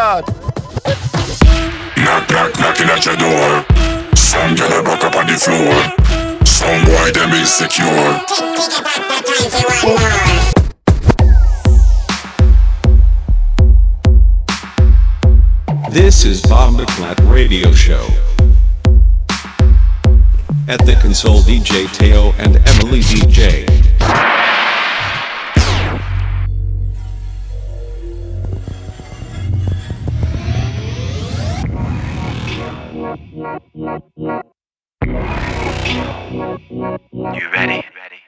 God. Knock, knock, knocking at your door. Some girl are back up on the floor. Some boy them insecure. This is Bob McClat Radio Show. At the console, DJ Teo and Emily DJ. You ready?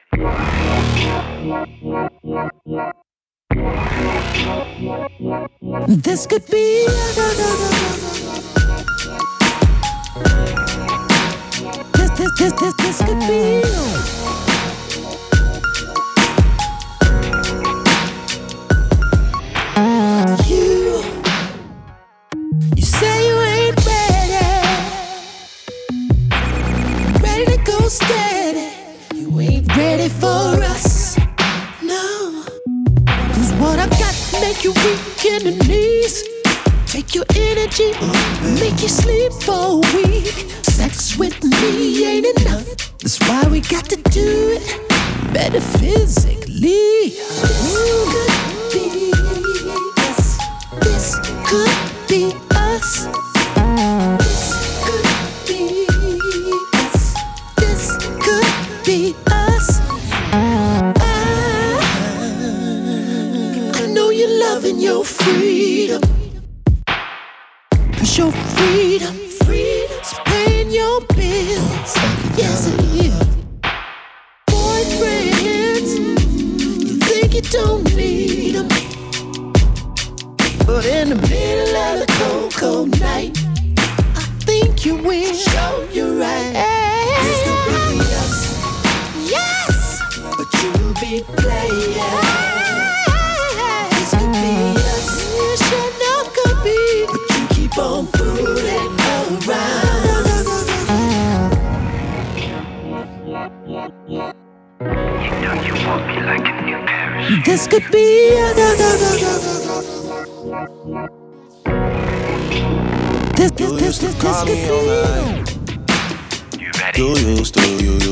This could be this could be you say you ain't ready to go steady. You ain't ready for us, no. 'Cause what I got make you weak in the knees. Take your energy, make you sleep for a week. Sex with me ain't enough. That's why we got to do it better physically. This could be us. This could be us. This could be us. I know you're loving your freedom. 'Cause your freedom's paying your bills. Yes, it is. Boyfriends, you think you don't need them, but in the middle of the cold, cold night, I think you will. Show you right. This could be us. Yes, but you be playing. This could be us. It sure enough could be, but you keep on fooling around. You know you want me like a new Paris. This could be us. This could be us. You ready? You used to.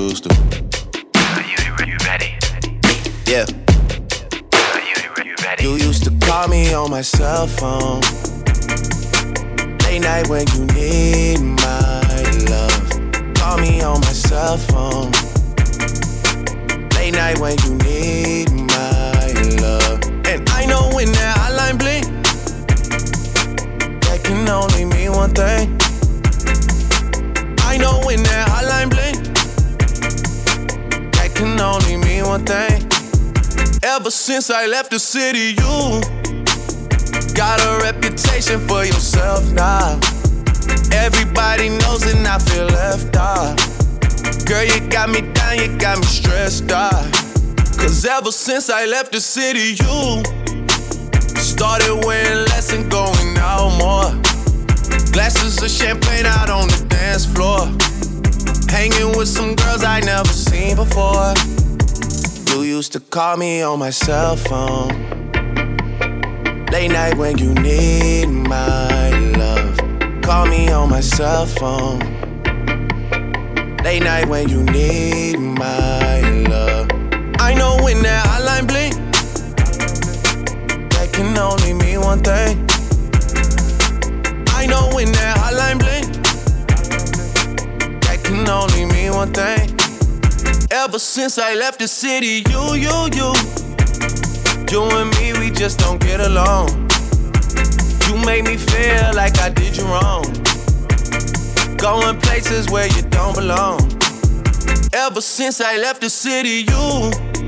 You ready? Yeah. You ready? You used to call me on my cell phone. Late night when you need my love. Call me on my cell phone. Late night when you need my love. And I know when that hotline blink, that can only mean one thing. I know when that hotline blink, that can only mean one thing. Ever since I left the city, you got a reputation for yourself now. Everybody knows and I feel left out. Girl, you got me down, you got me stressed out. 'Cause ever since I left the city, you started wearing less and going out more. Glasses of champagne out on the dance floor. Hanging with some girls I never seen before. You used to call me on my cell phone. Late night when you need my love. Call me on my cell phone. Late night when you need my love. I know when that hotline blink, that can only mean one thing. I know when that hotline blink, that can only mean one thing. Ever since I left the city, you and me, we just don't get along. You made me feel like I did you wrong. Going places where you don't belong. Ever since I left the city, you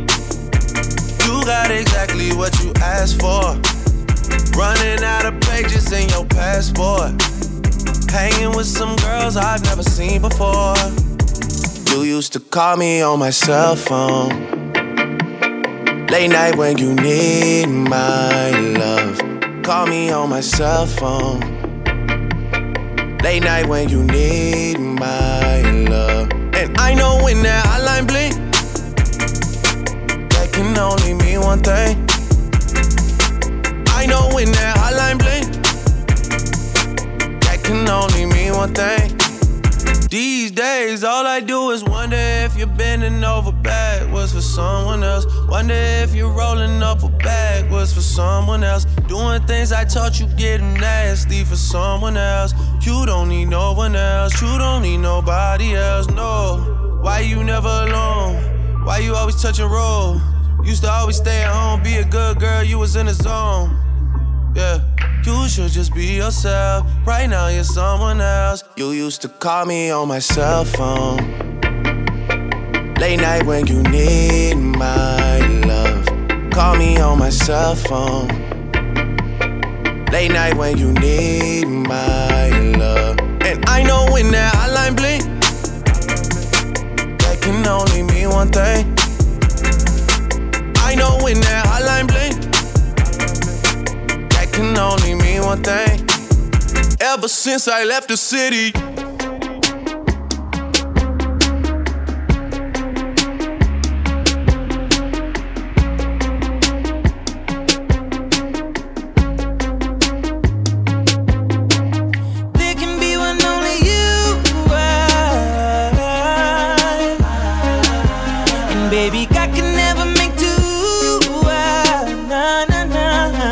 got exactly what you asked for. Running out of pages in your passport. Hanging with some girls I've never seen before. You used to call me on my cell phone. Late night when you need my love. Call me on my cell phone. Late night when you need my love. And I know when that hotline blink, that can only mean one thing. I know when that hotline blink, one thing. These days, all I do is wonder if you're bending over backwards for someone else. Wonder if you're rolling up a backwards for someone else. Doing things I taught you getting nasty for someone else. You don't need no one else. You don't need nobody else, no. Why you never alone? Why you always touch and roll? Used to always stay at home, be a good girl, you was in the zone. Yeah. You should just be yourself. Right now you're someone else. You used to call me on my cell phone. Late night when you need my love. Call me on my cell phone. Late night when you need my love. And I know when that hotline blink, that can only mean one thing. I know when that hotline blink, can only mean one thing. Ever since I left the city, there can be one only you are. And baby, I can never make two. Nah, nah, nah.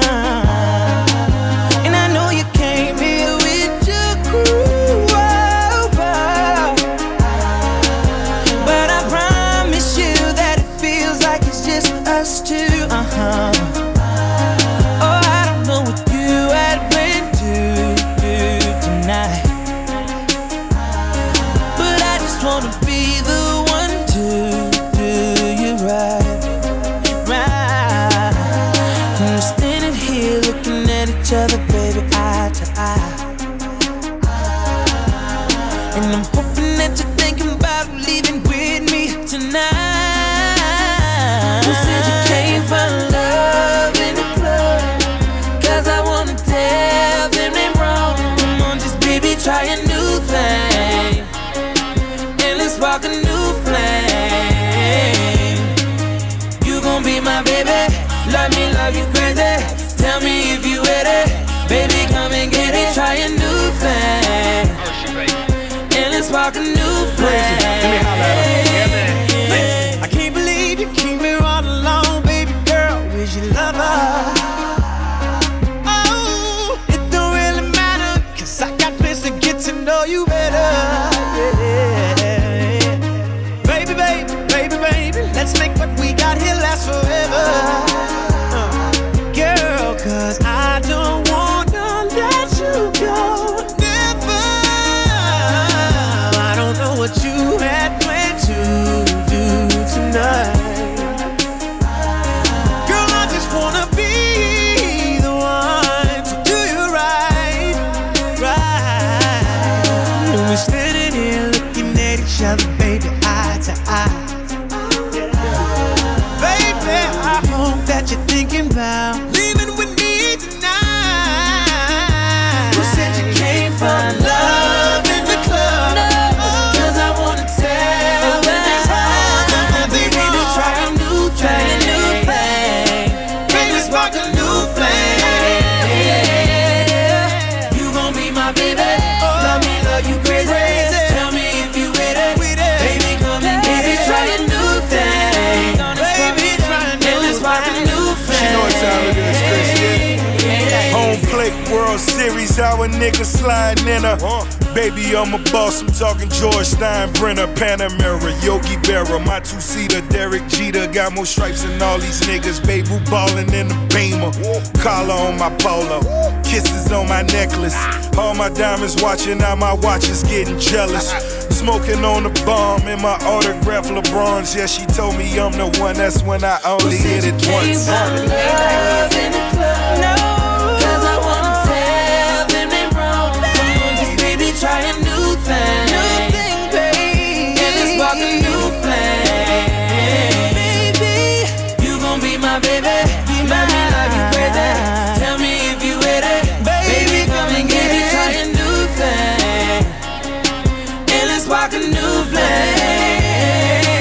And I'm hoping that you're thinking about leaving with me tonight. Who said you came for love in the club? Cause I wanna tell them they wrong. Come on, just baby, try a new thing. And let's spark a new flame. You gon' be my baby, love me, love you crazy. Tell me if you ready, baby, come and get it. Try a new thing. Let's spark a new flame. Let me holler at him. I can't believe you keep me all alone, baby girl. Where's your lover? Oh, it don't really matter, cause I got plans to get to know you better. Yeah. Baby, baby, baby, baby, let's make what we got here last forever. Girl, cause I don't wanna let you go. What you had planned to do tonight. Girl, I just wanna be the one to do you right, right. And we're standing here looking at each other, baby, eye to eye. Baby, I hope that you're thinking about leaving with me tonight. Who said you came for love in the club? World Series, our niggas sliding in her. Baby, I'm a boss, I'm talking George Steinbrenner, Panamera, Yogi Berra, my two-seater, Derek Jeter. Got more stripes than all these niggas, baby, who ballin' in the Beamer. Collar on my polo, kisses on my necklace. All my diamonds watching, now my watch is getting jealous. Smoking on the bomb in my autograph LeBrons. Yeah, she told me I'm the one, that's when I only hit it once. Try a new thing, baby. And let's spark a new flame. Baby, you gon' be my baby. Be my love you crazy. Tell me if you ready, baby. Come and get it. Try a new thing. And let's spark a new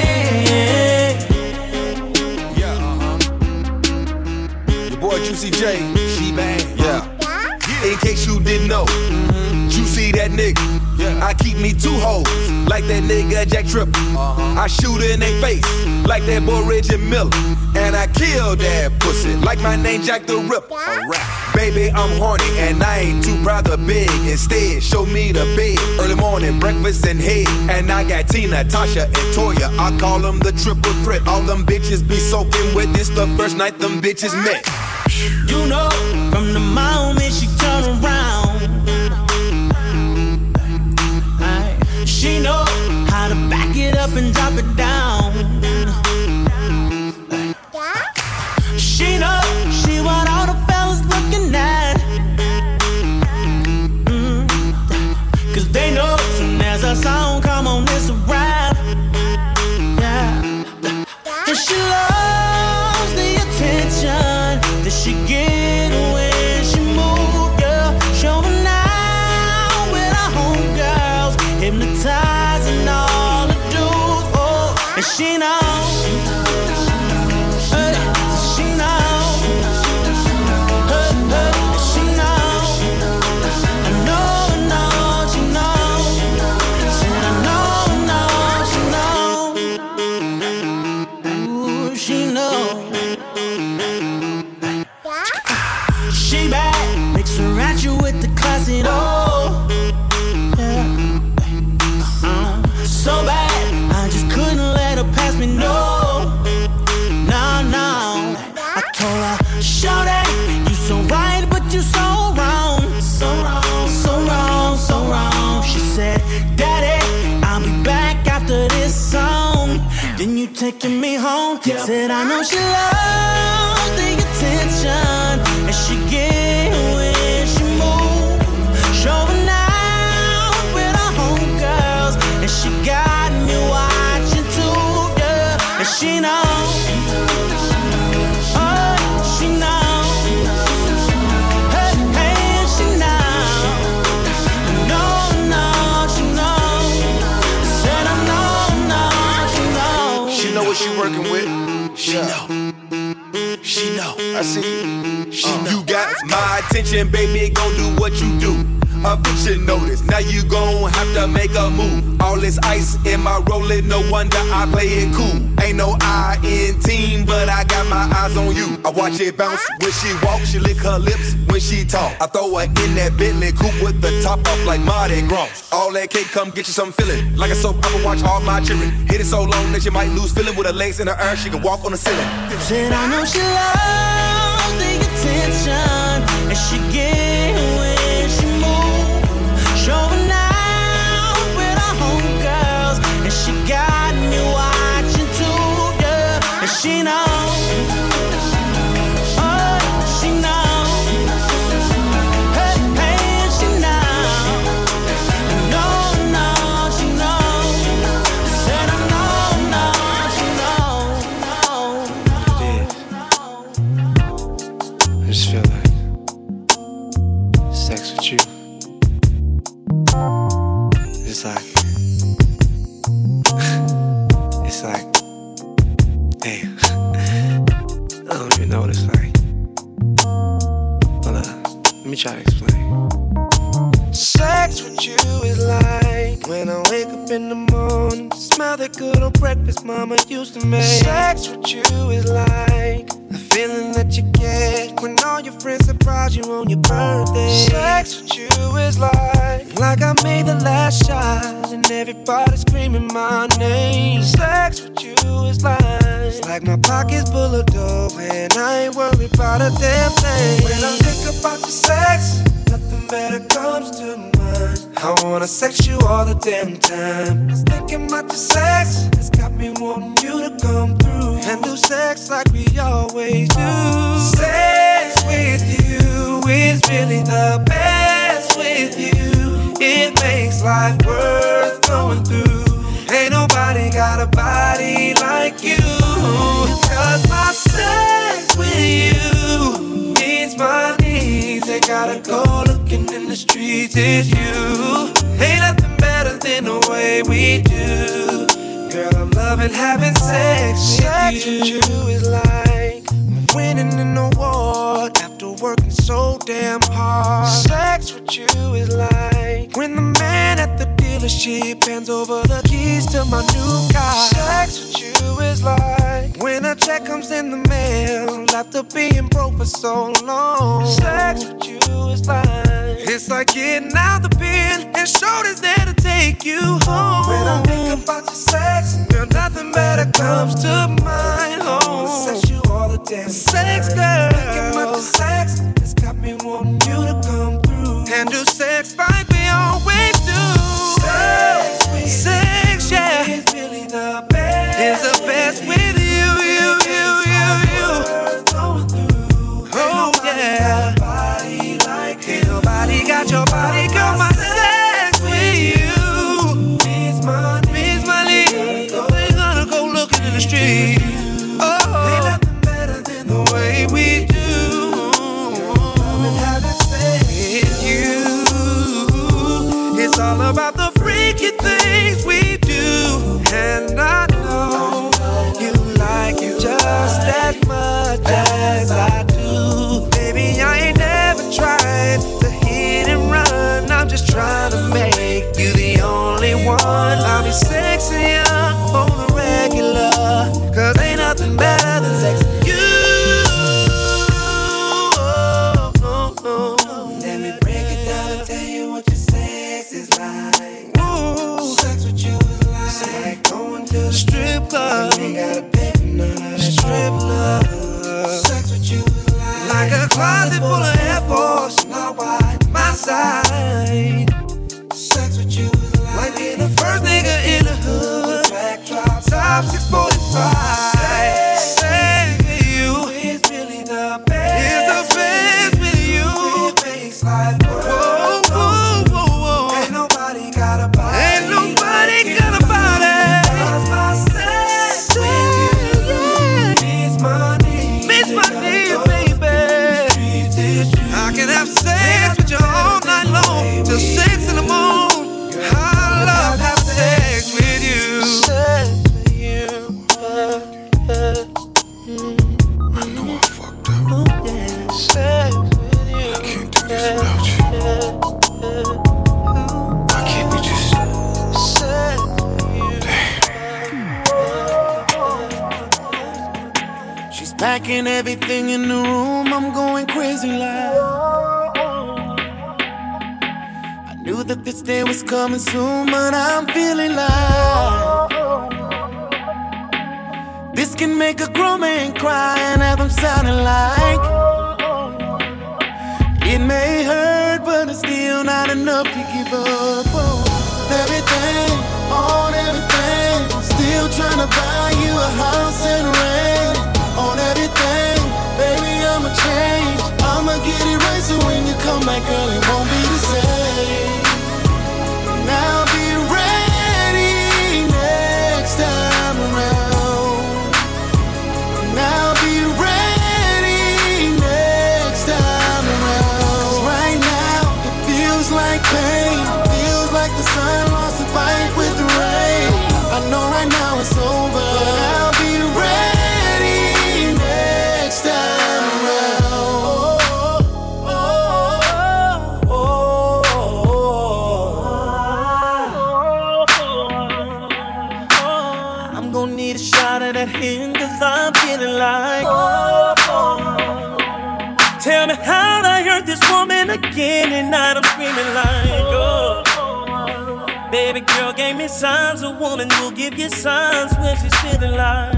flame. Yeah, your boy Juicy J. nigga. I keep me 2 hoes, like that nigga Jack Tripper. I shoot in they face, like that boy Reggie Miller. And I kill that pussy, like my name Jack the Ripper. Baby, I'm horny, and I ain't too proud to beg. Instead, show me the bed, early morning, breakfast and head. And I got Tina, Tasha, and Toya. I call them the triple threat. All them bitches be soaking wet. This the first night them bitches met. You know, from the moment she turn around, she know how to back it up and drop it down. She know she want all the fellas looking at. Cause they know soon as a song come on, it's a rap. Yeah. And she loves the attention that she get when she move, girl. Showing out with her homegirls, hypnotizing all the dudes. Oh, and she knows. Taking me home, said I know she loves the attention and she get when she moves, showing out with her homegirls, and she got me watching too, yeah, and she knows, oh, she knows, hey, hey, she knows, no, she knows, said I know, she knows. She know what she working with. She know. She know. I see you. She know. You got my attention, baby. Gon' do what you do. Eviction notice. Now you gon' have to make a move. All this ice in my rollin', no wonder I play it cool. Ain't no I in team, but I got my eyes on you. I watch it bounce when she walk, she lick her lips when she talk. I throw her in that Bentley coupe with the top off like Mardi Gras. All that cake, come get you some feeling. Like a soap opera, watch all my children. Hit it so long that you might lose feeling. With her legs in the air, she can walk on the ceiling. Said I know she loves the attention, and she get when she moves, showing out with her homegirls, and she got me watching too, yeah, and she knows. Try to explain. Sex with you is like when I wake up in the morning, smell that good old breakfast mama used to make. Sex with you is like the feeling that you get when all your friends surprise you on your birthday. Sex with you is like I made the last shot and everybody screaming my name. Sex with you is like my pockets full of dough and I ain't worried about a damn thing. When I think about the sex, nothing better comes to mind. I wanna sex you all the damn time. Just thinking about the sex, it's got me wanting you to come through and do sex like we always do. Sex with you is really the best with you. It makes life worth going through. Ain't nobody got a body like you. Cause my sex with you meets my needs. They gotta go looking in the streets. It's you. Ain't nothing better than the way we do. Girl, I'm loving having sex with you. Sex with you is like winning an award after working so damn hard. Sex with you is like when the man the sheep, hands over the keys to my new car. Sex with you is like when a check comes in the mail after being broke for so long. Sex with you is like it's like getting out the pen and shoulders there to take you home. When I think about your sex, girl, nothing better comes to mind. Oh, sex you all the damn sex, girl. Thinking about the sex, it's got me wanting you to come through and do sex like we always do. Sex, yeah, is really the best. It's the best with you. Oh yeah, ain't nobody got your body, girl. My sex with you means money. We're gonna go looking in the street. Oh, ain't nothing better than the way we do. Having sex with you. It's all about the freaky things we do, and I know you like it just as much as I do. Baby, I ain't never tried to hit and run. I'm just trying to make you the only one. I'll be sexy on the regular, 'cause ain't nothing better than sex with you. Let me break it down and tell you what your sex is like. Ooh, sex with you is like going to the strip club. You ain't gotta pay for none of that strip love. Sex with you is like a closet full of Air Force, not wide my side. Sex with you is like being the first nigga in the hood. Backdrop, top 645. Sex with you is really the best. It's the best with you. It makes life work. Whoa. Ain't nobody got a body. Ain't nobody got a body. 'Cause my sex with you means money. Means money, baby. I can have sex with you all night long till 6 in the morning. I love having sex with you. Sex with you. I know I fucked up. Oh, yeah. Sex with you. I can't do this without you. Why can't we just... Sex with you. She's packing everything in the room. I'm going crazy like. I knew that this day was coming soon, but I'm feeling like this can make a grown man cry and have him sounding like it may hurt, but it's still not enough to give up on everything, on everything. I'm still trying to buy you a house and rain on everything. Baby, I'ma change, I'ma get it right, so when you come back, girl, it won't be the same. Now be ready next time around. Now be ready next time around. 'Cause right now it feels like pain, feels like the sun lost a fight with the rain. I know right now it's over, but I'll be ready next time around. I'm gonna need a shot of that hand, 'cause I'm feeling like tell me how'd I hurt this woman again, and now I'm screaming like baby girl gave me signs, a woman will give you signs when she's feeling like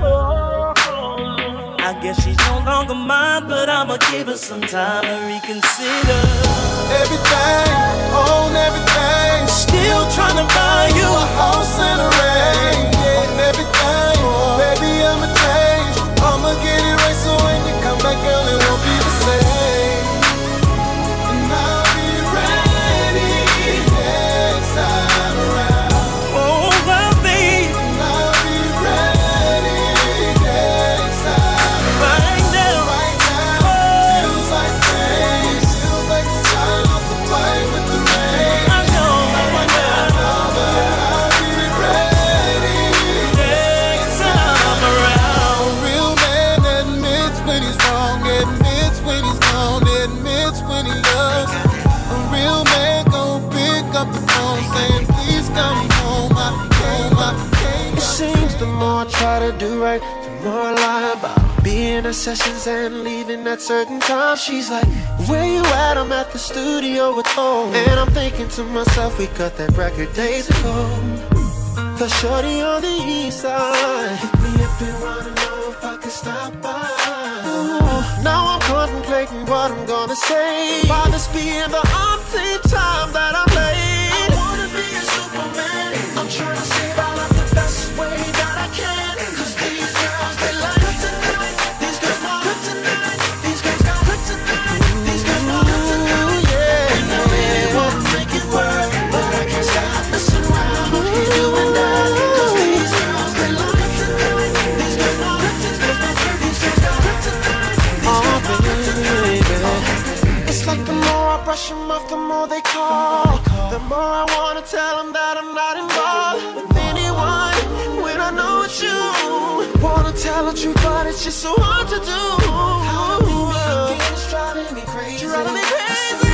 I guess she's no longer mine, but I'ma give her some time to reconsider everything, on everything. Still trying to buy you a house and a ring on everything. Baby, I'ma change, I'ma get it right, so when you come back, girl, it won't be the same. And I'll be ready next time around. Oh, well, babe, and I'll be ready next time around. Right now, feels like pain, feels like the sun lost the fight with the rain. I know, but I'll be ready next time around. A real man admits when he's wrong, admits when he's gone, admits when he loves. A real man gon' pick up the phone saying, please come Cause the more I try to do right, the more I lie about being at sessions and leaving at certain times. She's like, where you at? I'm at the studio with home. And I'm thinking to myself, we cut that record days ago. Cause shorty on the east side hit me up and wanna know if I can stop by. Ooh, now I'm contemplating what I'm gonna say. By this being the umpteenth time that I'm late. I wanna be a Superman. I'm trying to save all of the best way that I can. Cause these girls, they like kryptonite. These girls want kryptonite. These girls got kryptonite. These girls want kryptonite. Yeah, and I really wanna make it work, but I can't stop messing around. Keep doing that. Cause these girls, they like kryptonite. These girls want kryptonite. These girls got kryptonite. Oh, baby. It's like the more I brush them off, the more they call. The more I wanna tell them that I'm not involved with anyone when I know it's you. Wanna tell the truth, but it's just so hard to do. It's driving me crazy. Driving me crazy.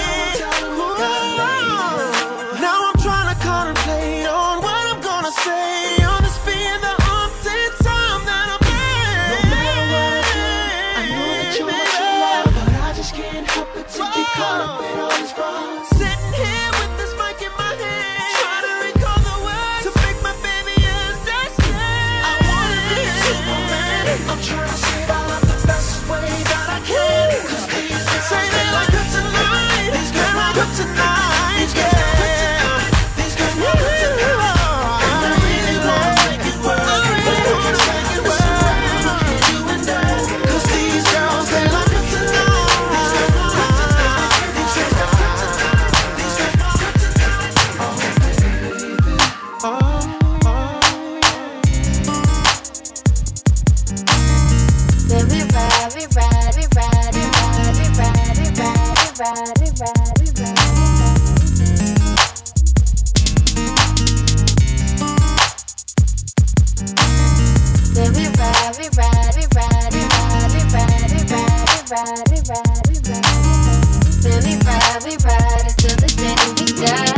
Now I'm trying to contemplate on what I'm gonna say on this being the umpteenth time that I'm late. No matter what I do, I know that you're what you love, but I just can't help it to get caught up in all these wrongs. Sitting here with this mic in my hand, trying to recall the words to make my baby understand. I wanna be a Superman. I'm trying to save all of the best way that I can. Cause these girls say they like kryptonite. These girls like kryptonite. These girls like kryptonite. These girls like kryptonite. And I really wanna make it work. I really wanna make it work. You and I. Cause these girls, they like kryptonite. These girls like kryptonite. These girls like kryptonite. These girls like kryptonite. Oh, baby. Oh. Then we ride, we ride, we ride, we ride, we ride, we ride, we ride, we ride, we ride. Then we ride, we ride, we ride, we ride, we ride, we ride, we ride, we ride, we ride. Then we ride until the day that we die.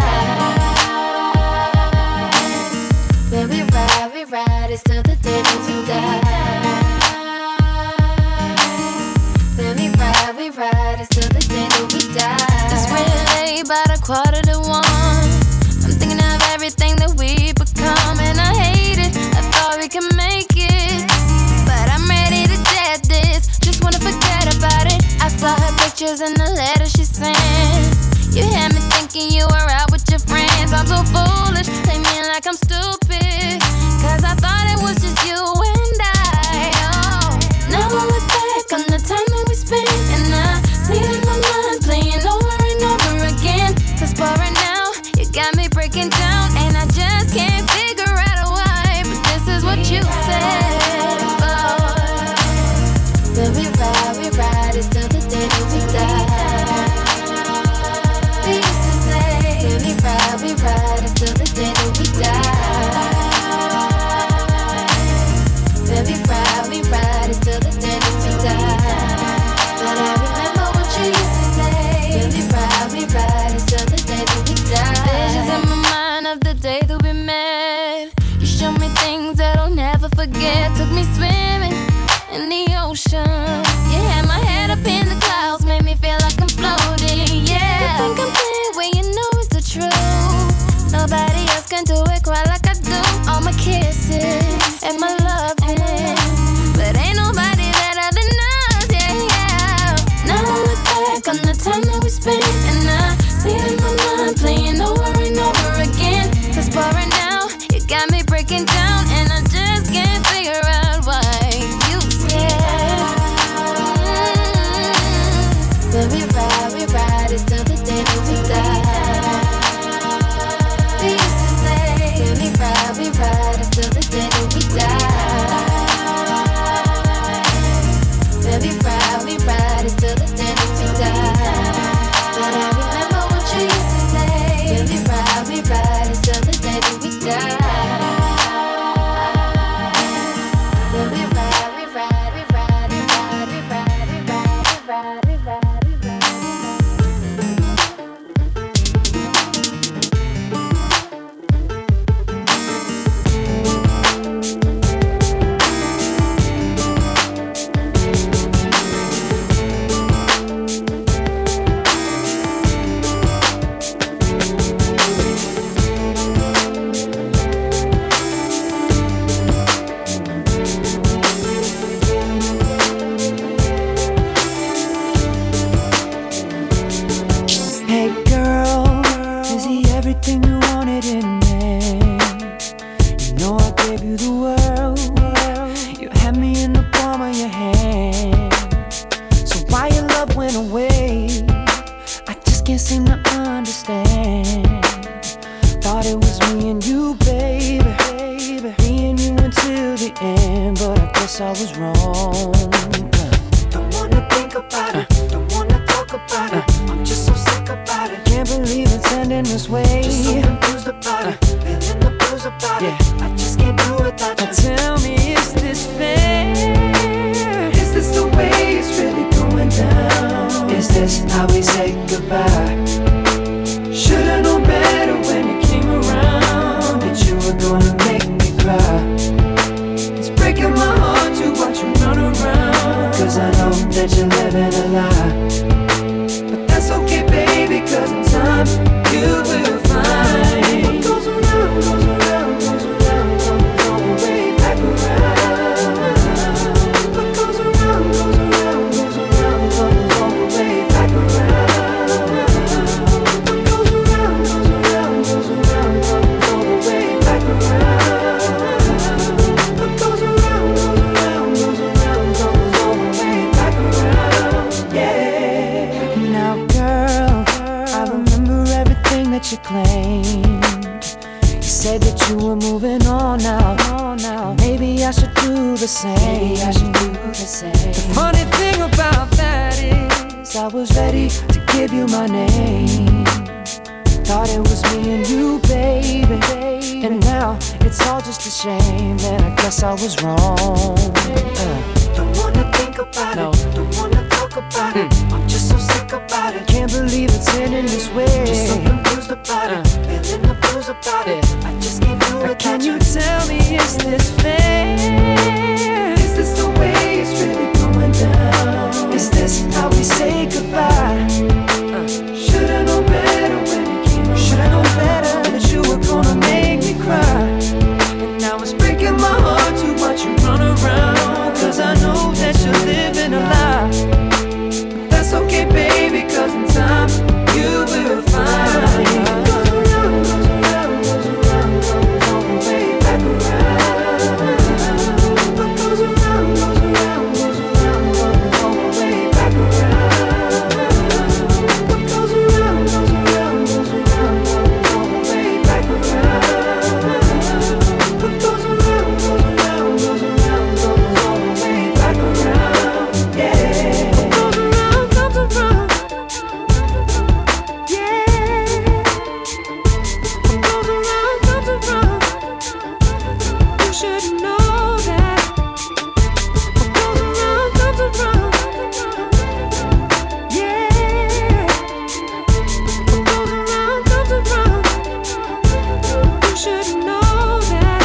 Then we ride until the day that we die. Then we ride until the day that we die. It's really late, about 1:45. I'm thinking of everything that we become, and I hate it. I thought we could make it, but I'm ready to dead this. Just wanna forget about it. I saw her pictures in the letter she sent. You had me thinking you were out with your friends. I'm so foolish, play me like I'm stupid, cause I thought it was just you and I. Oh, now I look back on the time that we spent, and I see it in my mind playing over and over again. Cause for right now, you got me breaking down, and I just can't figure out why. But this is what you said. Oh, then we ride, it's till the day that we die. We used to say, then we ride, it's till the day that we die. Then we ride, it's till the day that we die. But I remember what you used to say. Then we ride, it's till the day that we die. Visions in my mind of the day that we met. You showed me things that I'll never forget. Took me swimming in the ocean. You had my head up in the clouds, made me feel like I'm floating. Yeah, you think I'm playing when you know it's the truth. Nobody else can do it quite like I do. All my kisses and my loving, but ain't nobody better than us. Yeah, yeah. Now I look back on the time that we spent, and I see it in my mind playing over and over again. Cause for right now, you got me breaking down, and I just can't figure out why you said. Then we ride, it's till the day that we die. We used to say, then we ride, it's till the day that we die. Then we ride, it's till the day that we die. But I remember what you used to say. Then we ride, it's till the day that we die. Then we ride, we ride, we ride, we ride, we ride, we ride, we ride, we ride, we ride. me and you, baby. Me and you until the end, but I guess I was wrong. Don't wanna think about it, don't wanna talk about it. I'm just so sick about it. Can't believe it's ending this way. Just so confused about it, feeling the blues about it. I just can't do without you. Tell me, is this fair? Is this the way it's really going down? Is this how we say goodbye? Should've known better when you came around that you were gonna make me cry. It's breaking my heart to watch you run around, 'cause I know that you're living a lie. But that's okay, baby, 'cause in time you will find what goes around, goes around, goes around, comes all the way back around. What goes around, goes around, goes around, comes all the way back around. What goes around, goes around, goes around, comes all the way back around. What goes around, goes around, goes around, comes all the way back around. Yeah. Now, girl, I remember everything that you claimed. You said that you were moving on now. Maybe I should do the same. The funny thing about that is I was ready to give you my name. Thought it was me and you, baby. And now it's all just a shame, and I guess I was wrong. Don't wanna think about it, don't wanna talk about it. I'm just so sick about it. Can't believe it's ending this way. Just so confused about it, feeling the blues about it. I just can't do it. Can you tell me, is this fair? Is this the way it's really going down? Is this how we say goodbye? Should've known better when you came around. Should've known better that you were gonna make me cry. And now it's breaking my heart to watch you run around, 'cause I know that you're living a lie. But that's okay, baby, 'cause in time you will find. Goes around, goes around, goes around, comes all the way back around. What goes around, goes around, goes around, comes all the way back around. What goes around, goes around, goes around, comes all the way back around. What goes around, goes around, goes around, comes all the way back around. Yeah. What goes around, comes around. Yeah. What goes around, comes around. You should know that. What goes around, comes around. Yeah. What goes around, comes around. You should know that.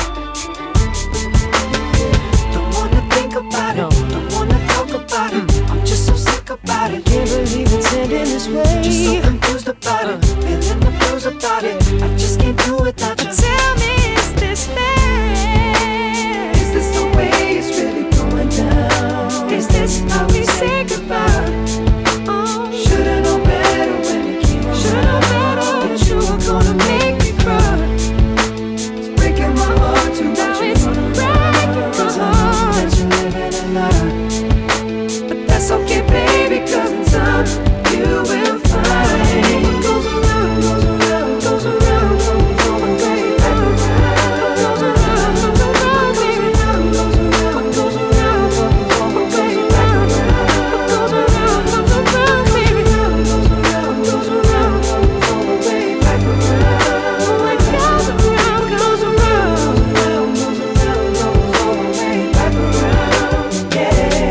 Don't wanna think about it, don't wanna talk about it. I'm just so sick about it. Can't believe it's ending this way. Just so confused about it, feeling the blues about it. I just can't do without you. Tell me, is this fair? Is this the way it's really going down? Is this how we say goodbye? Should've known better when you came around. Should've known better that you were gonna make me cry. It's breaking my heart to watch you run around, 'cause I know that you're living a lie. But that's okay, baby, 'cause in time you will find. What goes around, goes around, goes around, comes all the way back around. What goes around, comes around, baby. What goes around, what goes around, comes all the way back around. What goes around, comes around, baby. What goes around, goes around, comes all the way back around. What goes around, goes around, goes around, comes all the way back around. Yeah.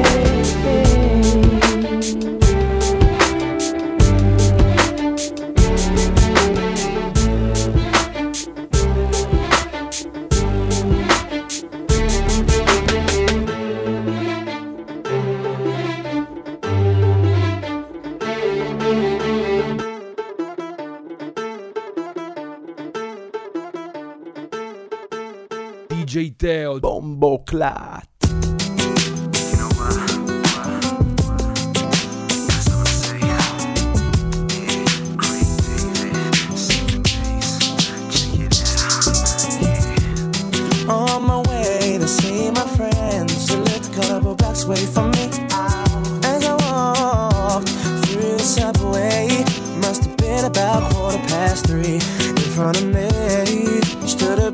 DJ Teo Bomboclat. On my way to see my friends, to lift a couple blocks away from me. As I walked through the subway, must have been about 3:15 in front of me.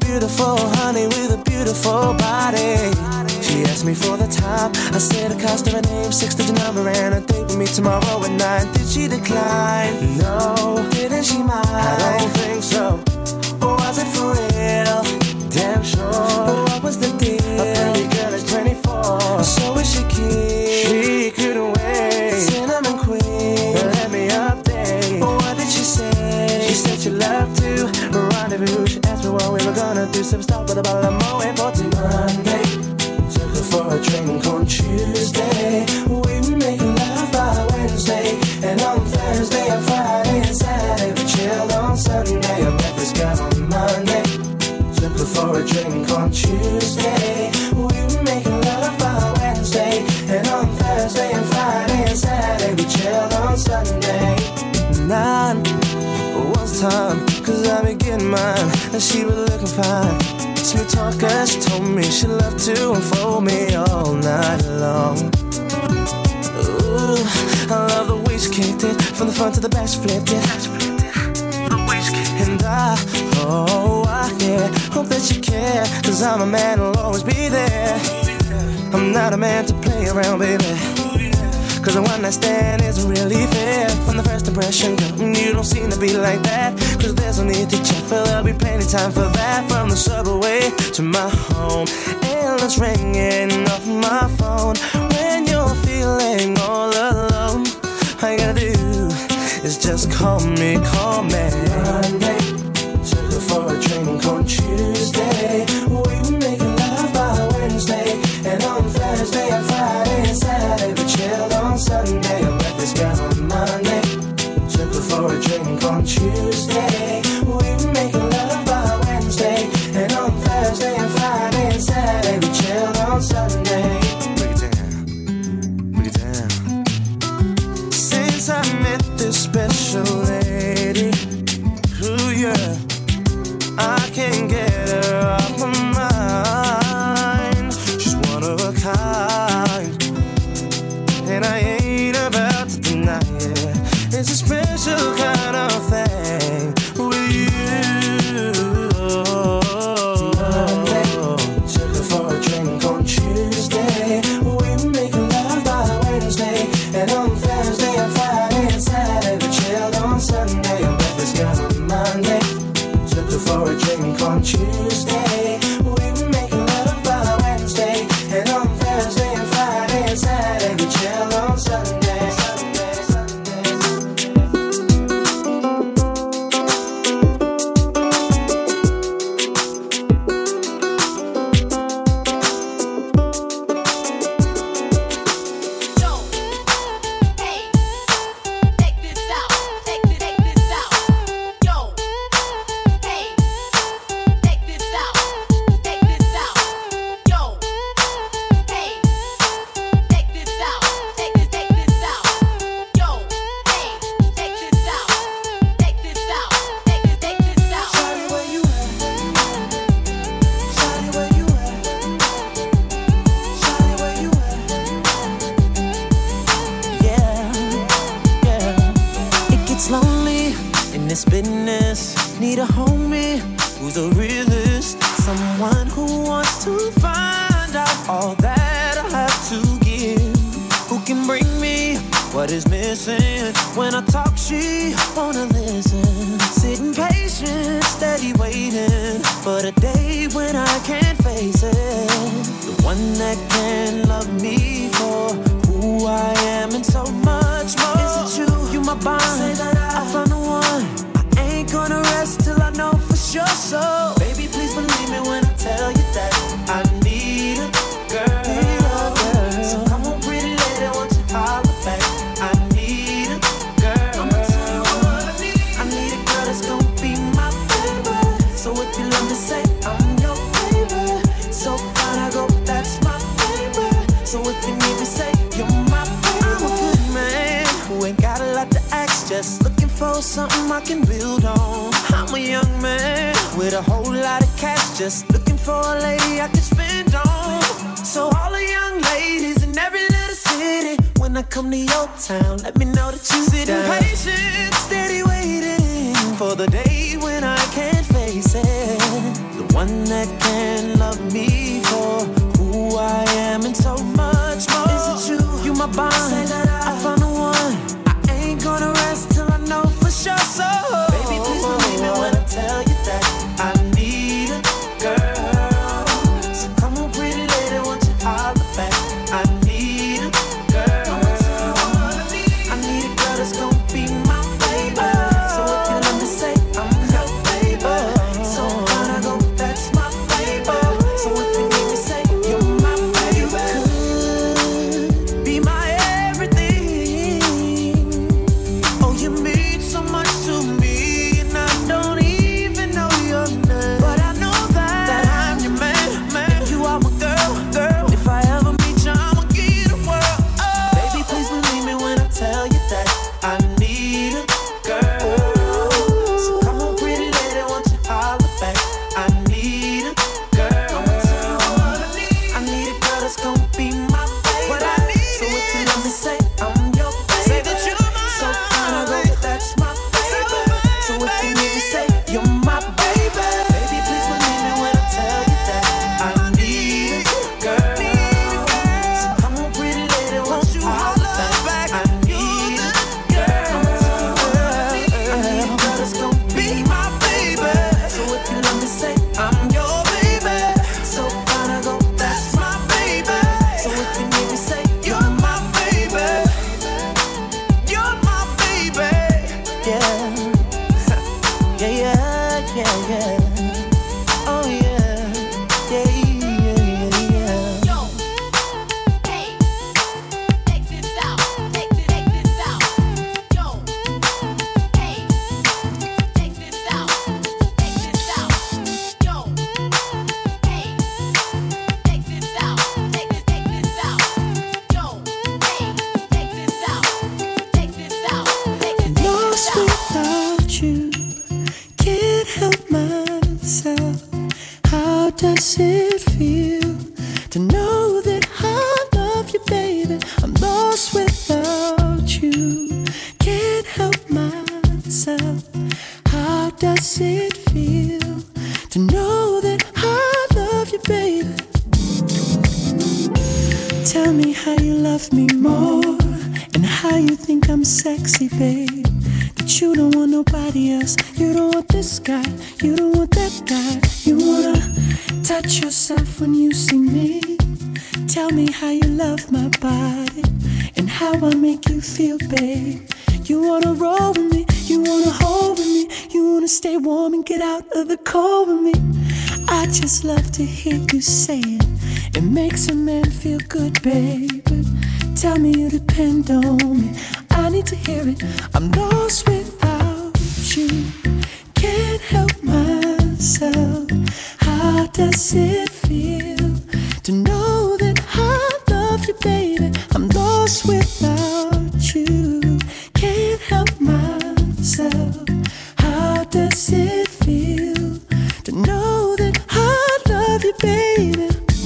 beautiful honey with a beautiful body. She asked me for the time. I said the cost of her name, 6-digit number, and a date with me tomorrow at 9. Did she decline? No. Didn't she mind? I don't think so. Or was it for real? Damn sure. What was the deal? A pretty girl is 24. So is she cute? She couldn't wait. Cinnamon queen, let me update. What did she say? She said she loved to rendezvous. She asked me what we were gonna do. Some stuff with a bottle of Moet for Monday. Took her for a drink on Tuesday. We were making love by Wednesday. And on Thursday and Friday and Saturday we chilled on Sunday. I met this guy on Monday. Took her for a drink on Tuesday. We were making love by Wednesday. And on Thursday and Friday and Saturday we chilled on Sunday. 9 was time, cause I been getting mine. And she was looking fine. Smooth talker, she told me she loved to unfold me all night long. Ooh, I love the way she kicked it. From the front to the back she flipped it. And I hope that you care. Cause I'm a man who'll always be there. I'm not a man to play around, baby. Cause the one night stand isn't really fair. From the first impression, girl, you don't seem to be like that. Cause there's no need to check, for there'll be plenty time for that. From the subway to my home, and it's ringing off my phone. When you're feeling all alone, all you gotta do is just call me. Monday, took her for a drink on Tuesday. We were making love by Wednesday. And on Thursday and Friday and Saturday we chilled on Sunday. I met this guy on Monday. Took her for a drink on Tuesday. We were making love by Wednesday. And on Thursday and Friday and Saturday we chilled on Sunday. Break it down, break it down. Since I met this special lady, ooh yeah, I can't get her off my mind. She's one of a kind, and I ain't about to deny it. It's a special kind of thing with you. Monday, took her for a drink on Tuesday. We were making love by Wednesday. And on Thursday and Friday and Saturday we chilled on Sunday. I met this guy on Monday. Took her for a drink on Tuesday. We were making love by Wednesday. And on Thursday and Friday and Saturday we chilled on Sunday. This business, need a homie who's a realist, someone who wants to find out all that I have to give, who can bring me what is missing. When I talk, she wanna listen, sitting patient, steady waiting for the day when I can't face it. The one that can love me for who I am and so much more. Is it true? You my bond. Say that I found the one. I ain't gonna rest till I know for sure. So baby, please believe me when I tell you that I need a girl. So come on, pretty lady, won't you holler back? I need a girl. I'ma tell you what I need. I need a girl that's gonna be my baby. So if you love me, say I'm your baby. So fine, I go, that's my baby. So if you need me, say you're my baby. I'm a good man who ain't got a lot to ask, just looking for something I can build on. I'm a young man with a whole lot of cash, just looking for a lady I can spend on. So all the young ladies in every little city, when I come to your town, let me know that you sit patient, steady waiting for the day when I can't face it. The one that can love me for who I am and so much more. Is it you? You my bond. Say that I found the one. I ain't gonna rest till I know for sure. So baby, please believe me when I tell you that I need a girl. So come on, pretty lady, won't you holler back? I need a girl. I need a girl that's gonna be my baby. So if you let me say I'm your baby, so fine I go, that's my baby. So if you need me say you're my baby, could be my everything. Oh, you mean so much to me, and I don't even know your name, but I know that I'm your man, man. You are my girl, girl. If I ever meet you, I'ma give you the world. Oh. Baby, please believe me when I tell you that I need a girl. So come on, pretty lady, won't you holler back? I need a girl. I need a girl that's gonna be my baby. What I need. So if you let me say I'm your baby, say that you're mine. So fine, I go, that's my baby. So if you need me say you're my baby. Baby, please believe me when I tell you that I need a girl. So come on, pretty lady, won't you holler back? I need a girl. I need a girl that's gonna be my baby. So if you let me say I'm your baby, so fine I go, that's my baby. So if you need me say you're my baby, you're my baby. Yeah, yeah, yeah, yeah, yeah. Oh yeah, yeah, yeah, yeah. Yo, hey, check this out, check this out. Yo, hey, check this out, check this out. Yo, hey, check this out, check this out. Yo, hey, check this out, check this out, check Lost this out. without you, can't help myself. How does it feel to know that I love you, baby? I'm lost without you, can't help myself. How does it feel to know that I love you, baby? Tell me how you love me more, and how you think I'm sexy, babe. That you don't want nobody else. You don't want this guy, you don't want that guy. You wanna touch yourself when you see me. Tell me how you love my body, and how I make you feel, babe. You wanna roll with me, you wanna hold with me, you wanna stay warm and get out of the cold with me. I just love to hear you say it. It makes a man feel good, baby. Tell me you depend on me. I need to hear it. I'm lost without you, can't help myself. How does it feel to know that I love you, baby? I'm lost without you, can't help myself. How does it feel to know that I love you, baby?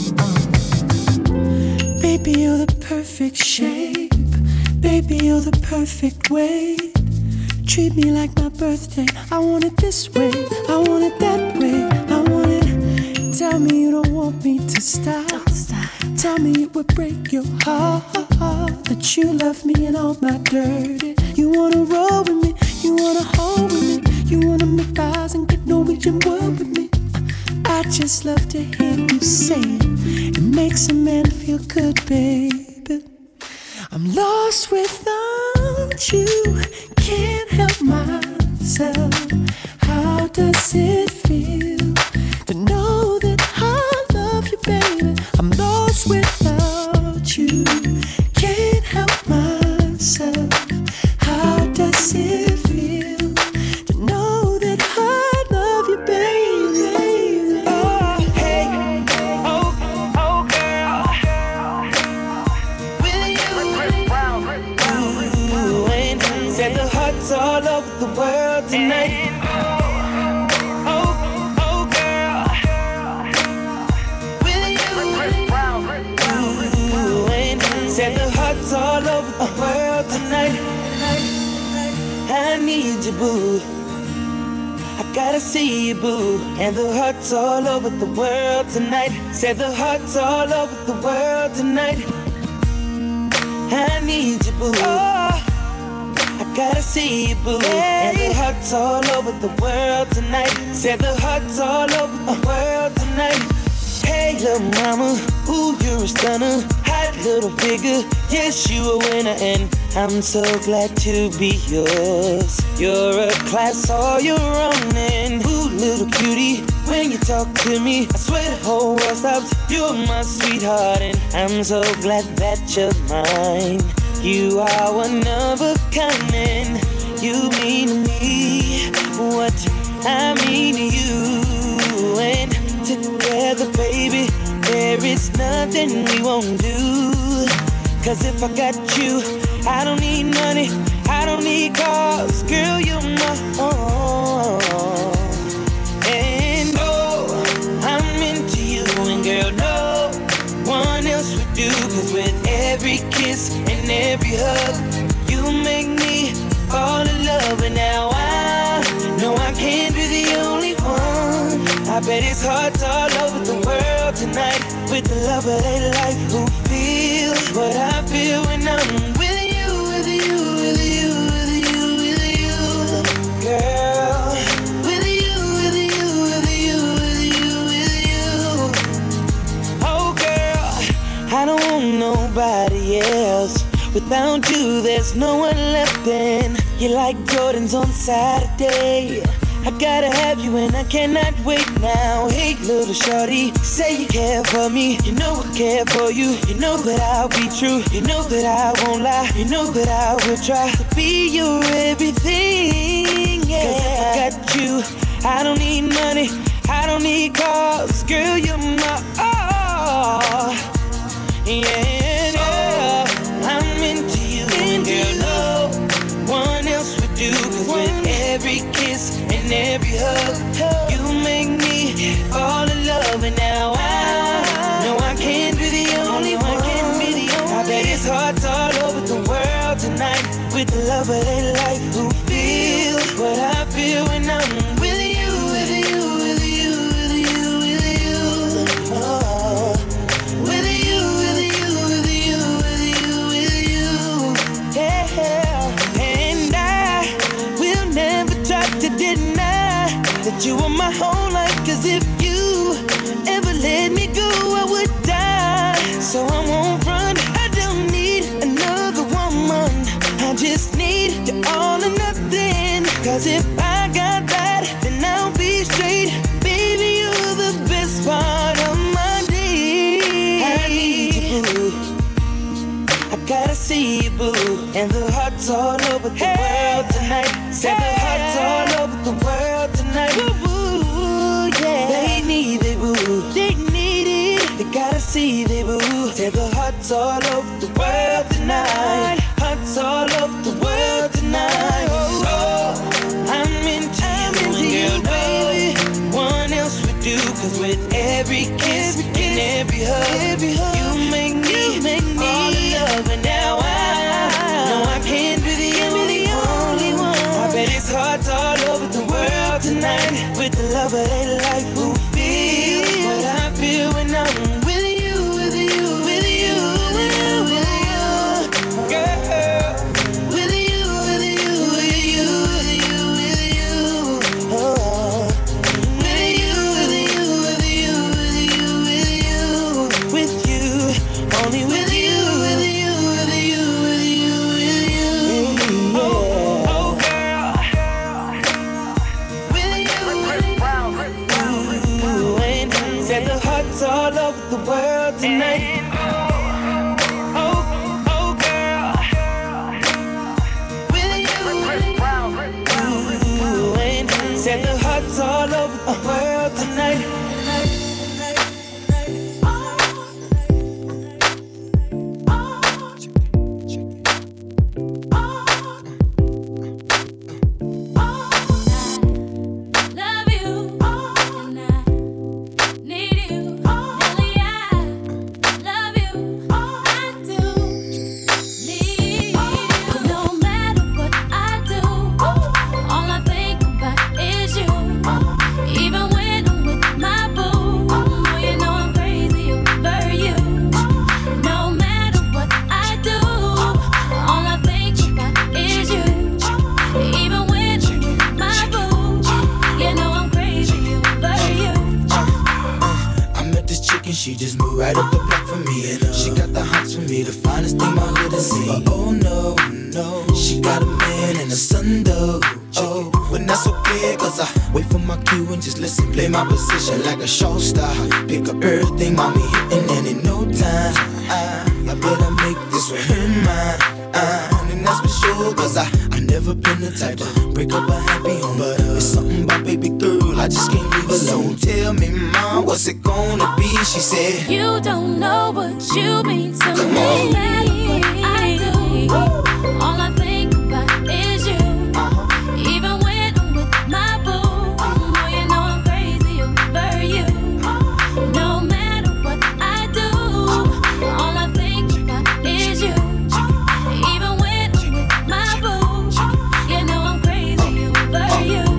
Baby, you're the perfect shape. Baby, you're the perfect weight. Treat me like my birthday. I want it this way, I want it that way. I want it. Tell me you don't want me to stop. Tell me it would break your heart that you love me in all my dirty. You wanna roll with me, you wanna hold with me, you wanna make eyes and get Norwegian word with me. I just love to hear you say it. It makes a man feel good, baby. I'm lost without you, can't help myself. How does it feel to know that I love you, baby? I'm lost without you, can't help myself. How does it feel to know that I love you, baby? Oh, hey, oh, oh, girl. Will you ain't set the hearts all over the world tonight? Oh, oh, girl. Will you ain't set the hearts all over the world tonight? I need you, boo. I gotta see you, boo. And the hearts all over the world tonight. Said the hearts all over the world tonight. I need you, boo. Oh, I gotta see you, boo. And the hearts all over the world tonight. Said the hearts all over the world tonight. Hey, little mama, ooh, you're a stunner. Hot little figure, yes, you a winner. And I'm so glad to be yours. You're a class all your own. And ooh, little cutie, when you talk to me, I swear the whole world stops. You're my sweetheart, and I'm so glad that you're mine. You are one of a kind, and you mean to me what I mean to you. And together, baby, there is nothing we won't do. Cause if I got you, I don't need money, I don't need cars. Girl, you're my own. And oh, I'm into you. And girl, no one else would do. Cause with every kiss and every hug, you make me fall in love. And now I know I can't be the only one. I bet it's hearts all over the world tonight. With the love of their life, who feels what I feel when I'm with you, with you, with you, with you, with you, girl. With you, with you, with you, with you, with you. Oh, girl, I don't want nobody else. Without you, there's no one left. And you're like Jordans on Saturday. I gotta have you and I cannot wait now. Hey, little shorty, say you care for me. You know I care for you. You know that I'll be true. You know that I won't lie. You know that I will try to be your everything. Yeah. Cause if I got you, I don't need money, I don't need cars. Girl, you're my all. Yeah, I'm into you. And girl, no one else would do. Cause with every kiss and every hug, you make me fall in love. And now I know I can't be the only one. I bet it's hearts all over the world tonight. With the love of their life, who feels what I feel when I'm with you, with you, with you, with you, with you. Oh, with you, with you, with you, with you, with you. Yeah, and I will never try to deny that you are my whole life. Cause if you ever let me go, I would die. So I won't run, I don't need another woman. I just need you all or nothing. Cause if I got that, then I'll be straight. Baby, you're the best part of my day. I need you, boo. I gotta see you, boo. And the hearts all over the world tonight. Said the hearts all over the world tonight. Boo, yeah. They need it, boo. They need it. They gotta see it, boo. Said the hearts all over the world tonight. Hearts all over the world tonight. Oh, I'm into you, baby. One else would do. Cause with every kiss and every hug, you make me fall in love. And now I know I can't be the only one. I bet it's hearts all over the world tonight. With the love of their life, who feels what I feel when I'm with you, with you, with you, with you, with you, girl. With you, with you, with you, with you, with you. Oh, with you, with you, with you, with you, with you, with you, only with you, with you, with you, with you, with you. Oh, oh, girl. With you, and said the hearts all over the world tonight. Oh, oh, girl. With you, and said the hearts all over the world tonight. Love you, and I need you. Nelly, I love you, I do need you. No matter what I do, all I think about is you. she just moved right up the block for me. And she got the hots for me, the finest thing my hood has seen. But oh no, no, she got a man and a son though. Oh, but that's okay, cause I wait for my cue and just listen. Play my position like a show star. Pick up everything, mommy hitting, and in no time I better make this with her mine. And that's for sure, cause I never been the type to break up a happy home. But it's something about baby girl, I just can't leave alone. Tell me, mom, what's it gonna be? She said, you don't know what you mean to me. Come on. I do. All I think about is you. Even when I'm with my boo, oh, you know I'm crazy over you. No matter what I do, all I think about is you. Even when I'm with my boo, you know I'm crazy over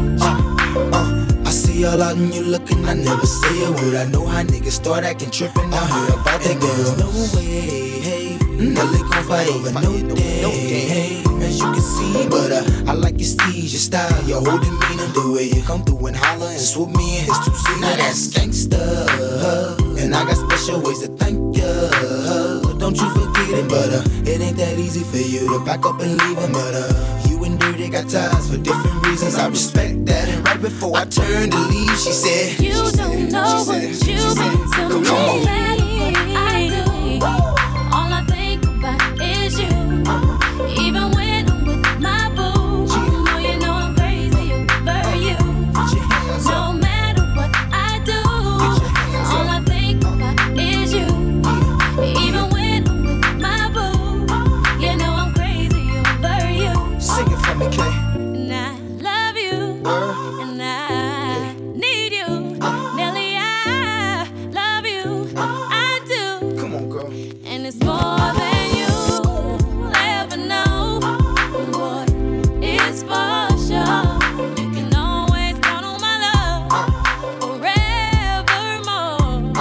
you. I see all out and you looking, I never say a word. I know how niggas start acting trippin'. I heard about that girl. No way, hey, Nelly gon' fight over no day, hey. As you can see, but I like your steez, your style, your whole demeanor, the way you come through and holler and swoop me in his two-seater. Now that's gangsta, and I got special ways to thank ya. Don't you forget it, but it ain't that easy for you to back up and leave him. But you and Dirty got ties for different reasons. I respect that. And right before I turned to leave, she said, you don't know what you mean to me. I do. All I think about is you. Even when I'm with my boo, oh, you know I'm crazy over you. No matter what I do, all I think about is you. Even when I'm with my boo, you know I'm crazy over you. Sing it for me, Kay. And I love you, and I need you. Nelly, I love you, I do. Come on, girl. And it's more than you ever know. Boy, it's for sure. You can always count on my love forevermore.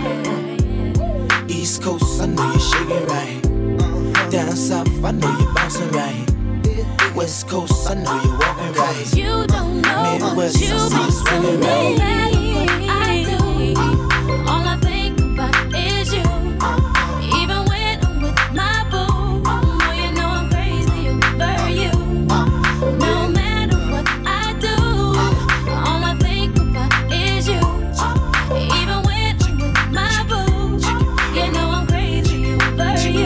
Yeah. East Coast, I know you're shaking right. Down south, I know you're bouncing right. West Coast, I know you're walking right. You don't know Midwest, what you I see you mean swinging to right. me. I do. All I think about is you. Even when I'm with my boo, oh, you know I'm crazy over you. No matter what I do, all I think about is you. Even when I'm with my boo, you know I'm crazy over you.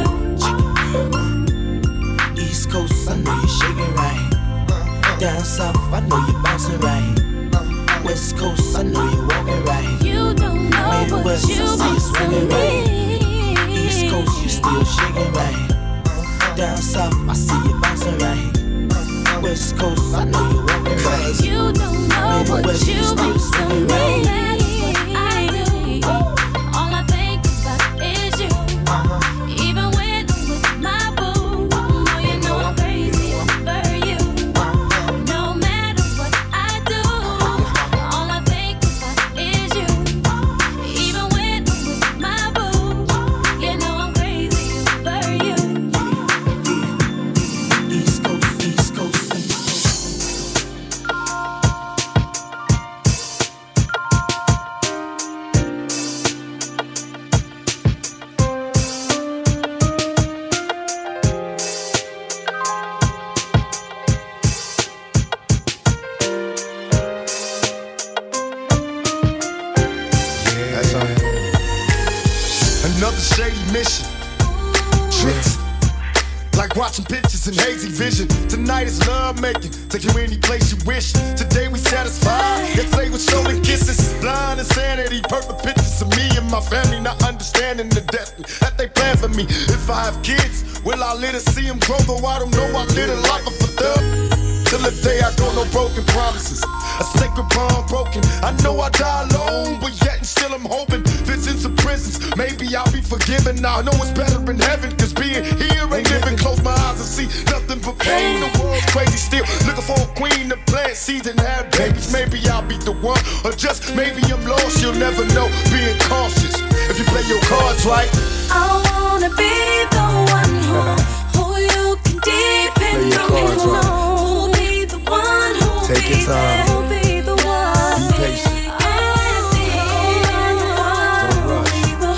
East Coast, I know you're shaking right. Down south, I know you're bouncing right. West Coast, I know you're walking right. You don't know Midwest, what you I see you mean swinging to right. me. East Coast, you still shaking right. Down south, I see you bouncing right. West Coast, I know you're walking right. You don't know what Midwest, you still mean to swinging me. right. I do. All I think about is you. Even when I'm with my boo, oh, you know I'm crazy over you. No matter what I do, all I think about is you. Even when I'm with my boo, you know I'm crazy over you. East Coast, East Coast. Another shady mission. Tricks. Like watching pictures in hazy vision. Tonight is love making. Take you any place you wish. Today we satisfied. Yesterday was stolen kisses. Blind insanity. Perfect pictures of me and my family. Not understanding the depth that they plan for me. If I have kids, will I let her see them grow? Though I don't know, I live a life of a thug. Till the day I go, no broken promises. A sacred bond broken. I know I die alone, but yet and still I'm hoping. Visions of prisons, maybe I'll be forgiven. Now I know it's better in heaven, cause being here ain't living. Close my eyes and see nothing but pain. The world's crazy still, looking for a queen to plant seeds and have babies. Maybe I'll be the one, or just maybe I'm lost. You'll never know, being cautious. If you play your cards right, I wanna be the one who you can depend on. Take your time. Be patient. Don't rush.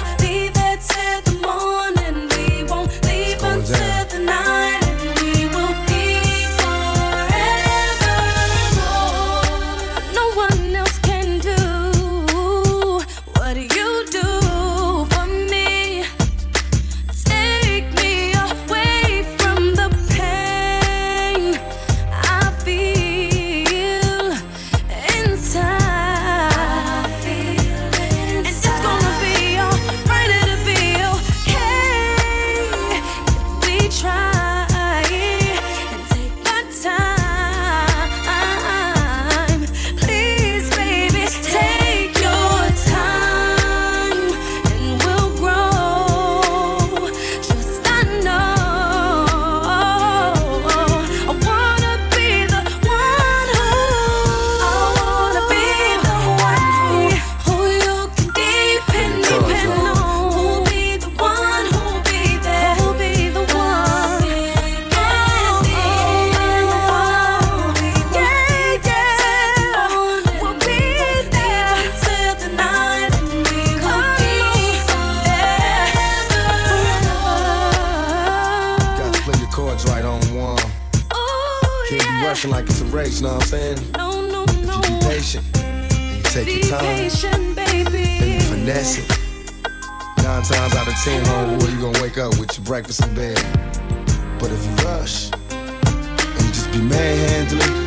rushing like it's a race, know what I'm saying? No, no, if no. you be patient, and you take your time, patient, baby. and you finesse it. 9 times out of 10, homeboy, you gonna wake up with your breakfast in bed. But if you rush, and you just be manhandling,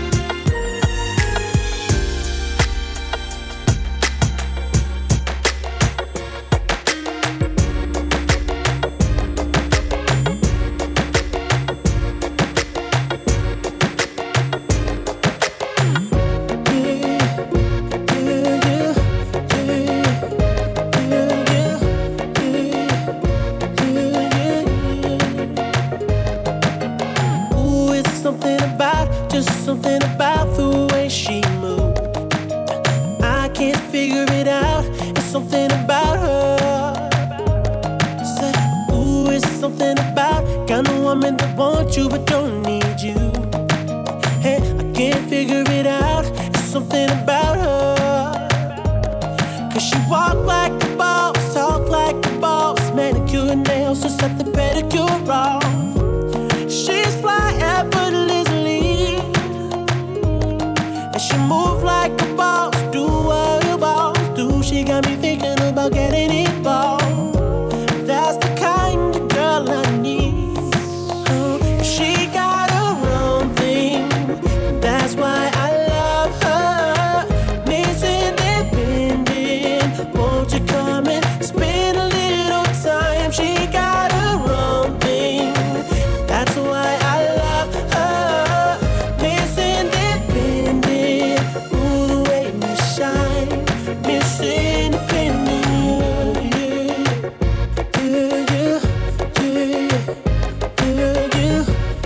something about the way she moves. I can't figure it out. It's something about her. Say, ooh, it's something about kind of woman that wants you but don't need you. Hey, I can't figure it out. It's something about her. 'Cause she walk like a boss, talk like a boss, manicure and nails, just set the pedicure off. She's fly effortlessly, and she move like a boss, do what a boss do. She got me thinking about getting involved. That's the kind of girl I need. She got her own thing, that's why I love her. Miss Independent, won't you come and spend a little time? She got her own thing, that's why I love her. Miss Independent, ooh, the way you shine. Miss Independent, yeah, yeah, yeah, yeah, yeah,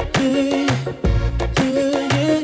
yeah,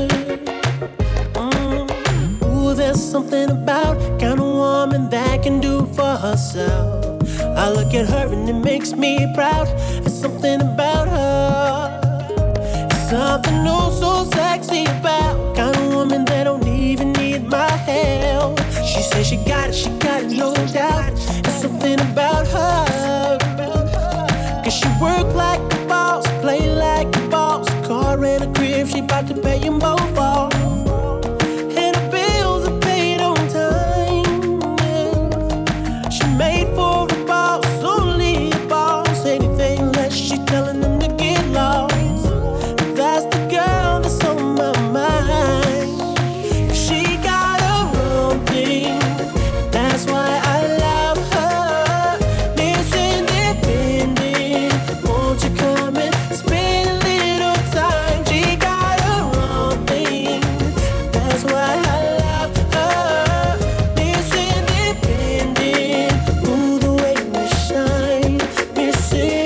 yeah. Ooh, there's something about kind of woman that can do for herself. I look at her and it makes me proud. There's something about her. It's something oh so sexy about kind of woman that don't even need my help. She says she got it, no doubt. There's something about her. 'Cause she work like a boss, play like a boss. Car and a crib, she bout to pay them both off. And her bills are paid on time, yeah. She made for a boss, only a boss. Anything less, she telling them to get lost. That's the girl that's on my mind. She got her own thing, that's why I love her. Miss Independent, won't you come and spend a little time? She got her own thing, that's why I love her. Miss Independent, ooh, the way you shine. Miss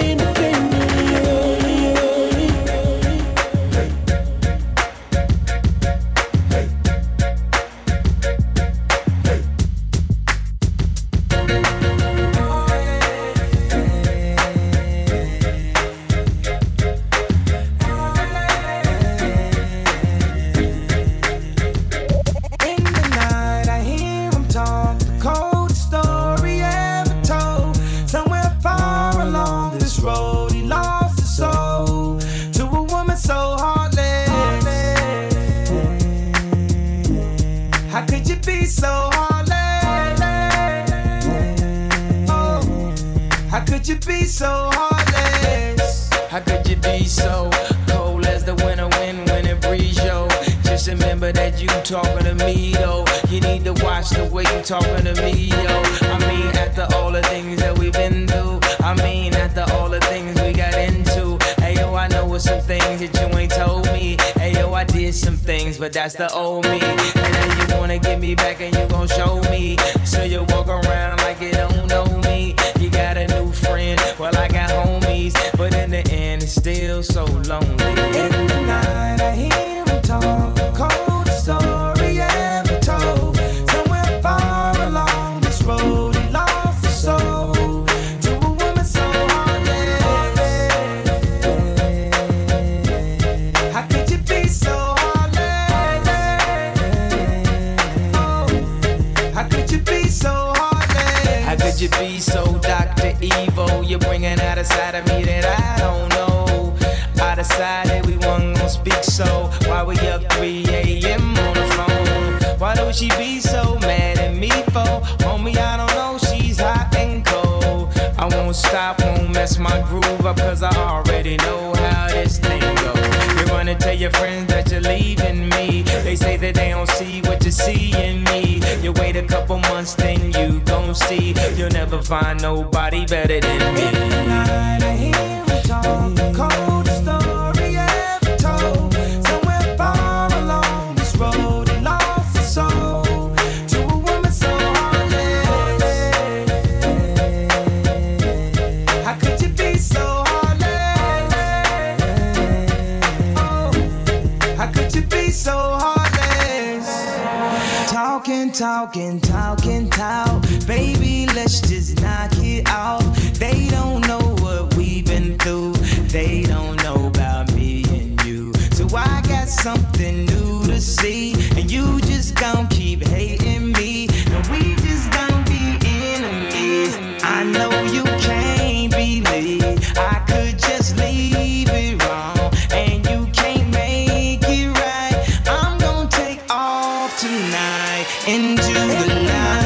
In the night, I hear him talk, the coldest story ever told. Somewhere far along this road, he lost his soul to a woman so heartless. How could you be so heartless? Oh, how could you be so heartless? How could you be so cold as the winter wind when it breeze, yo? Just remember that you talking to me, though. You need to watch the way you talking to me, yo. I mean, after all the things that we've been through. I mean, after all the things we got into. Hey, yo, I know what some things that you ain't told me. Hey, yo, I did some things, but that's the old me. And now you wanna get me back and you gon' show me. So you walk around like you don't know me. You got a new friend, well, I got homies. But in the end, it's still so lonely. In the night, I hear him talk, the coldest story ever told. Somewhere far along this road, he lost his soul to a woman so heartless. How could you be so heartless? Oh, how could you be so heartless? How could you be so Dr. Evil? You're bringing out a side of me that I don't know. Out decided we wasn't gonna speak, so why we up 3 a.m. on the phone? Why do she be so mad at me for? Homie, I don't know, she's hot and cold. I won't stop, won't mess my groove up, cause I already know how this thing goes. You wanna tell your friends that you're leaving me. They say that they don't see what you see in me. You wait a couple months, then you gon' see. You'll never find nobody better than me. Tonight I hear we talk, the coldest story ever told. Somewhere far along this road, he lost his soul to a woman so heartless. How could you be so heartless? Oh, how could you be so heartless? Talking, talking, talking, talk. Baby, let's just knock it out. They don't know what we've been through. They don't know about me and you. So I got something new to see. And you just gon' keep hating me. And we just gon' be enemies. I know you can't believe I could just leave it wrong. And you can't make it right. I'm gon' take off tonight into the night.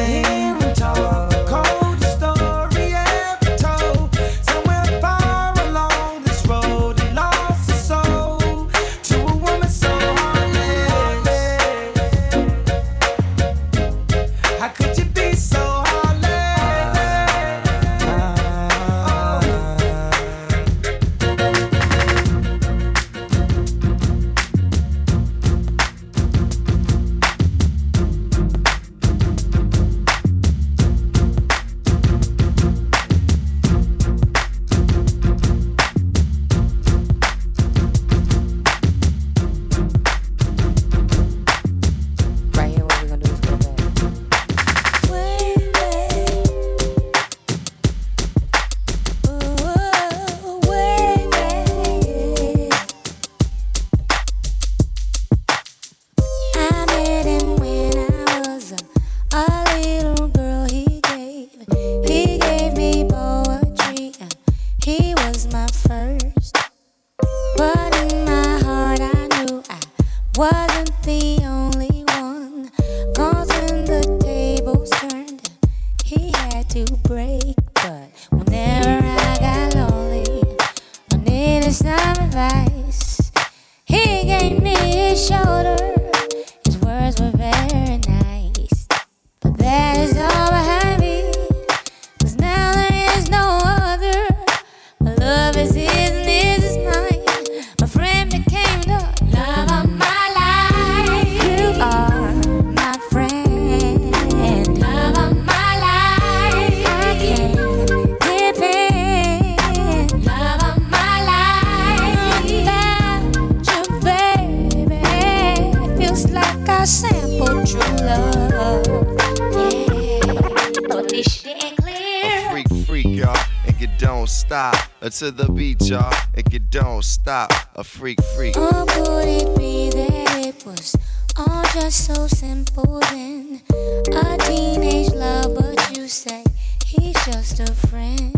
To the beat, y'all, and you don't stop. A freak, freak. Or could it be that it was all just so simple then? A teenage love, but you say he's just a friend.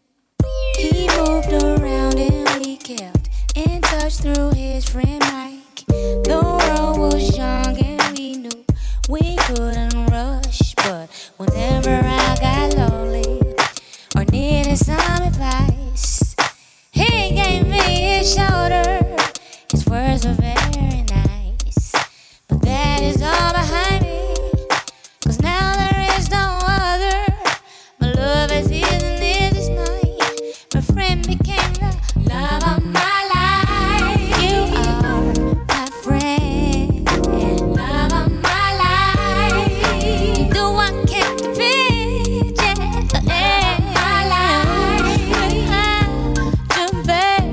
He moved around and we kept in touch through his friend Mike. The world was young and we knew we couldn't rush, but whenever I got lonely or needed some advice, he gave me his shoulder. His words were very nice, but that is all behind me, 'cause now there is no other. My love as is and is mine. My friend became the love of my life. You are my friend, love of my life. The one captivate, yeah, my life. You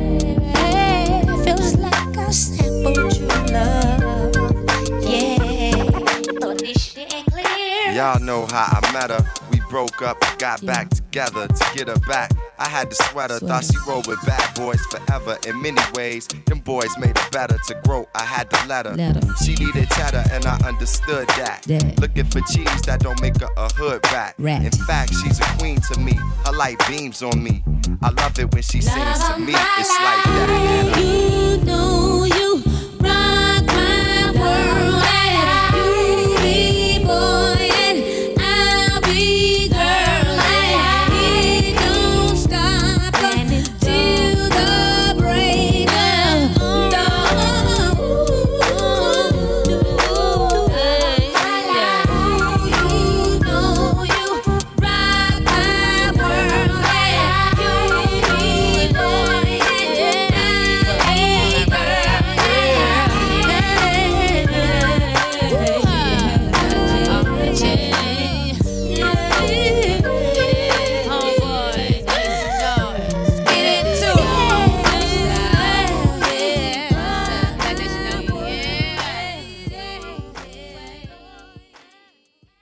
baby, feels like a sample true love, yeah. But this shit ain't clear. Y'all know how I met her. We broke up, got back together to get her back. I had the sweater. Thought she rolled with bad boys forever. In many ways, them boys made her better. To grow, I had to let her. She needed cheddar, and I understood that. Looking for cheese that don't make her a hood rat. In fact, she's a queen to me. Her light beams on me. I love it when she sings to me. It's like that. You know you rock my world, and you be boy, and I'll be